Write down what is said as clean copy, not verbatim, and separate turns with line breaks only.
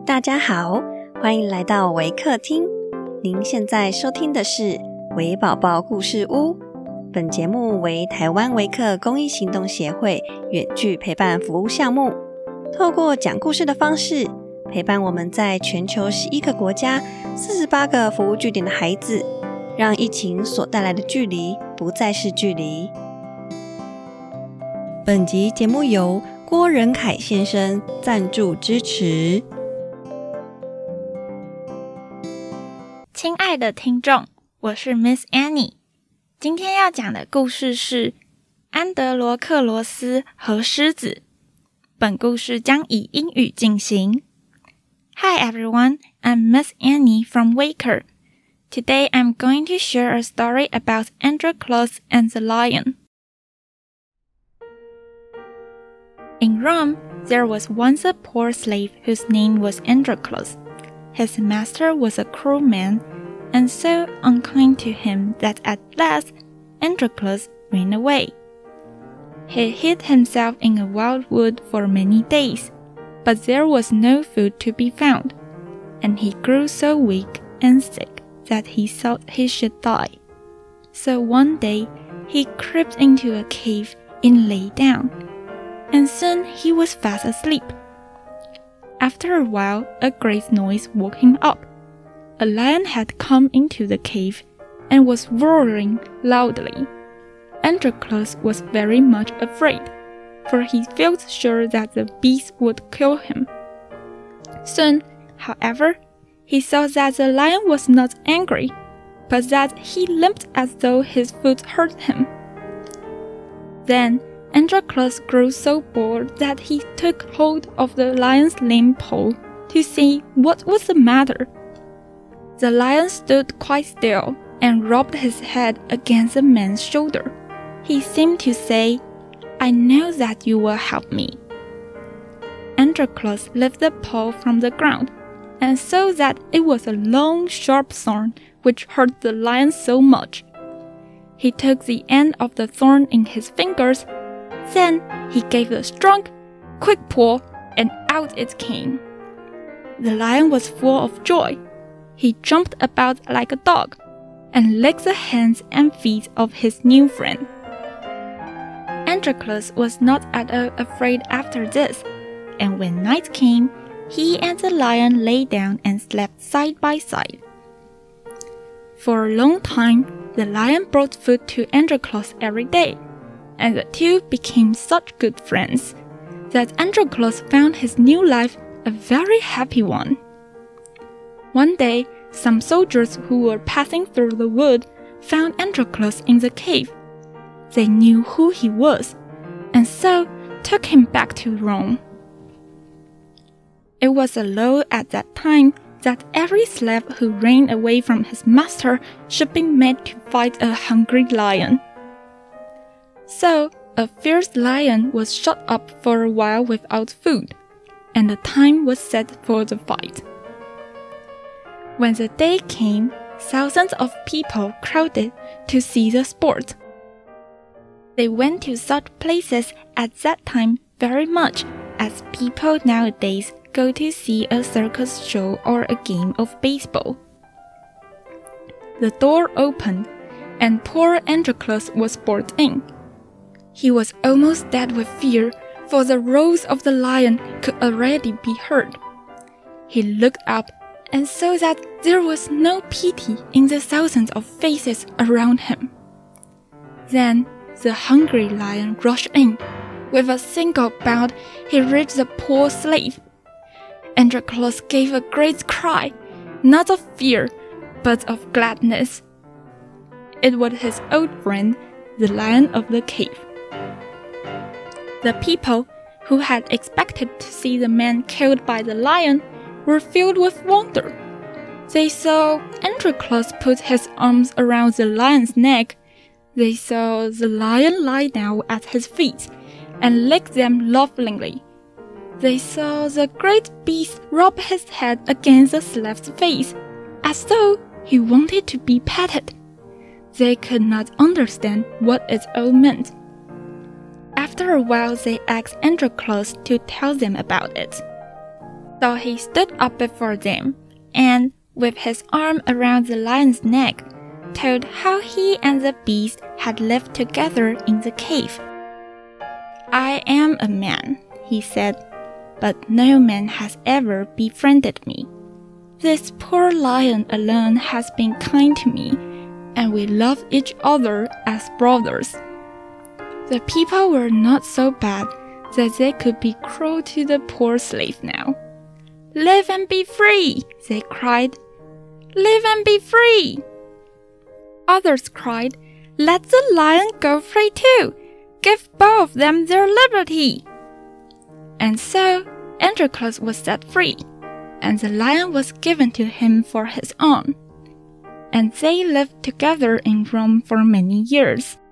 大家好，欢迎来到微客厅。您现在收听的是微宝宝故事屋。本节目为台湾微客公益行动协会远距陪伴服务项目，透过讲故事的方式，陪伴我们在全球11个国家48个服务据点的孩子，让疫情所带来的距离不再是距离。本集节目由郭仁凯先生赞助支持。
亲爱的听众，我是 Miss Annie。今天要讲的故事是安德罗克罗斯和狮子。本故事将以英语进行。Hi everyone, I'm Miss Annie from Waker. Today I'm going to share a story about Androclus and the lion. In Rome, there was once a poor slave whose name was Androclus. His master was a cruel man, and so unkind to him that at last Androclus ran away. He hid himself in a wild wood for many days, but there was no food to be found, and he grew so weak and sick that he thought he should die. So one day he crept into a cave and lay down, and soon he was fast asleep.After a while, a great noise woke him up. A lion had come into the cave and was roaring loudly. Androclus was very much afraid, for he felt sure that the beast would kill him. Soon, however, he saw that the lion was not angry, but that he limped as though his foot hurt him. Then Androclus grew so bored that he took hold of the lion's lame pole to see what was the matter. The lion stood quite still and rubbed his head against the man's shoulder. He seemed to say, "I know that you will help me." Androclus lifted the pole from the ground and saw that it was a long, sharp thorn which hurt the lion so much. He took the end of the thorn in his fingers.Then he gave a strong, quick pull, and out it came. The lion was full of joy. He jumped about like a dog, and licked the hands and feet of his new friend. Androclus was not at all afraid after this, and when night came, he and the lion lay down and slept side by side. For a long time, the lion brought food to Androclus every day.And the two became such good friends that Androclus found his new life a very happy one. One day, some soldiers who were passing through the wood found Androclus in the cave. They knew who he was, and so took him back to Rome. It was a law at that time that every slave who ran away from his master should be made to fight a hungry lion.So, a fierce lion was shut up for a while without food, and the time was set for the fight. When the day came, thousands of people crowded to see the sport. They went to such places at that time very much as people nowadays go to see a circus show or a game of baseball. The door opened, and poor Androclus was brought in.He was almost dead with fear, for the roars of the lion could already be heard. He looked up and saw that there was no pity in the thousands of faces around him. Then the hungry lion rushed in. With a single bound, he reached the poor slave. Androclus gave a great cry, not of fear, but of gladness. It was his old friend, the lion of the cave.The people, who had expected to see the man killed by the lion, were filled with wonder. They saw Androclus put his arms around the lion's neck. They saw the lion lie down at his feet and lick them lovingly. They saw the great beast rub his head against the slave's face, as though he wanted to be petted. They could not understand what it all meant.After a while, they asked Androclus to tell them about it. So he stood up before them, and, with his arm around the lion's neck, told how he and the beast had lived together in the cave. "I am a man," he said, "but no man has ever befriended me. This poor lion alone has been kind to me, and we love each other as brothers." The people were not so bad that they could be cruel to the poor slave now. "Live and be free," they cried. "Live and be free." Others cried, "Let the lion go free too. Give both of them their liberty." And so Androclus was set free, and the lion was given to him for his own. And they lived together in Rome for many years.